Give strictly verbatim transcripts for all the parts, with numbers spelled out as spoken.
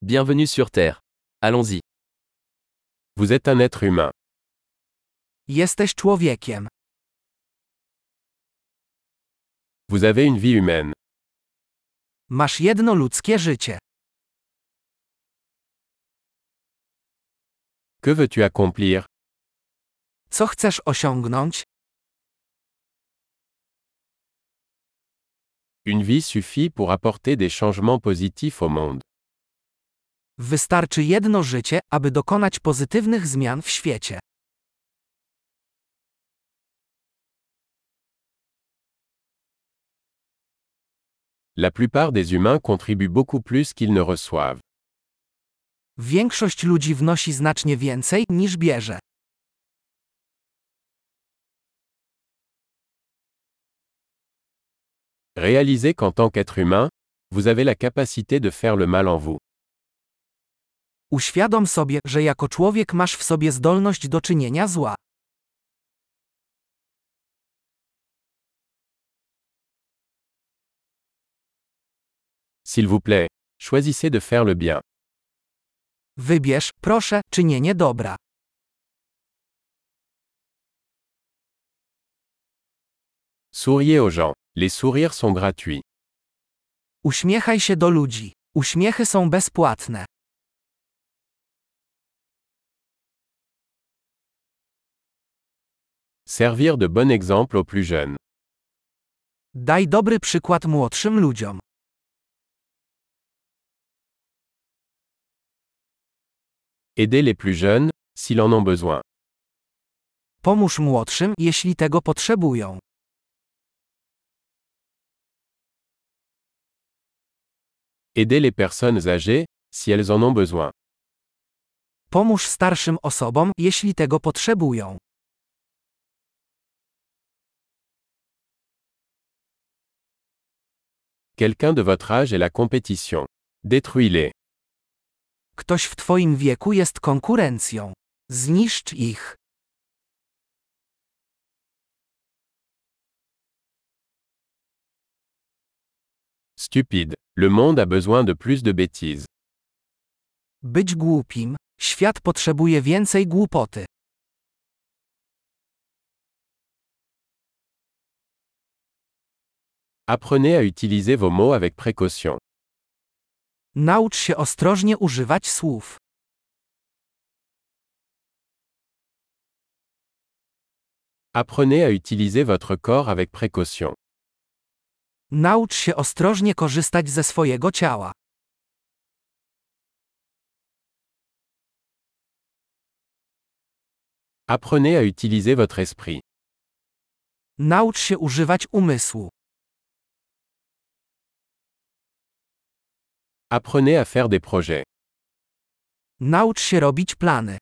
Bienvenue sur Terre. Allons-y. Vous êtes un être humain. Jesteś człowiekiem. Vous avez une vie humaine. Masz jedno ludzkie życie. Que veux-tu accomplir? Co chcesz osiągnąć? Une vie suffit pour apporter des changements positifs au monde. Wystarczy jedno życie, aby dokonać pozytywnych zmian w świecie. La plupart des humains contribuent beaucoup plus qu'ils ne reçoivent. Większość ludzi wnosi znacznie więcej, niż bierze. Réalisez qu'en tant qu'être humain, vous avez la capacité de faire le mal en vous. Uświadom sobie, że jako człowiek masz w sobie zdolność do czynienia zła. S'il vous plaît, choisissez de faire le bien. Wybierz, proszę, czynienie dobra. Souriez aux gens. Les sourires sont gratuits. Uśmiechaj się do ludzi. Uśmiechy są bezpłatne. Servir de bon exemple aux plus jeunes. Daj dobry przykład młodszym ludziom. Aidez les plus jeunes, s'ils en ont besoin. Pomóż młodszym, jeśli tego potrzebują. Aidez les personnes âgées, si elles en ont besoin. Pomóż starszym osobom, jeśli tego potrzebują. Quelqu'un de votre âge est la compétition. Détruis-les. Ktoś w twoim wieku jest konkurencją. Zniszcz ich. Stupide. Le monde a besoin de plus de bêtises. Być głupim. Świat potrzebuje więcej głupoty. Apprenez à utiliser vos mots avec précaution. Naucz się ostrożnie używać słów. Apprenez à utiliser votre corps avec précaution. Naucz się ostrożnie korzystać ze swojego ciała. Apprenez à utiliser votre esprit. Naucz się używać umysłu. Apprenez à faire des projets. Naucz się robić plany.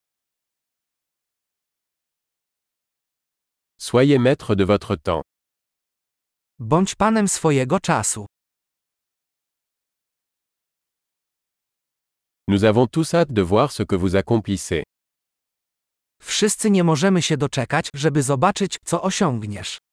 Soyez maître de votre temps. Bądź panem swojego czasu. Nous avons tous hâte de voir ce que vous accomplissez. Wszyscy nie możemy się doczekać, żeby zobaczyć, co osiągniesz.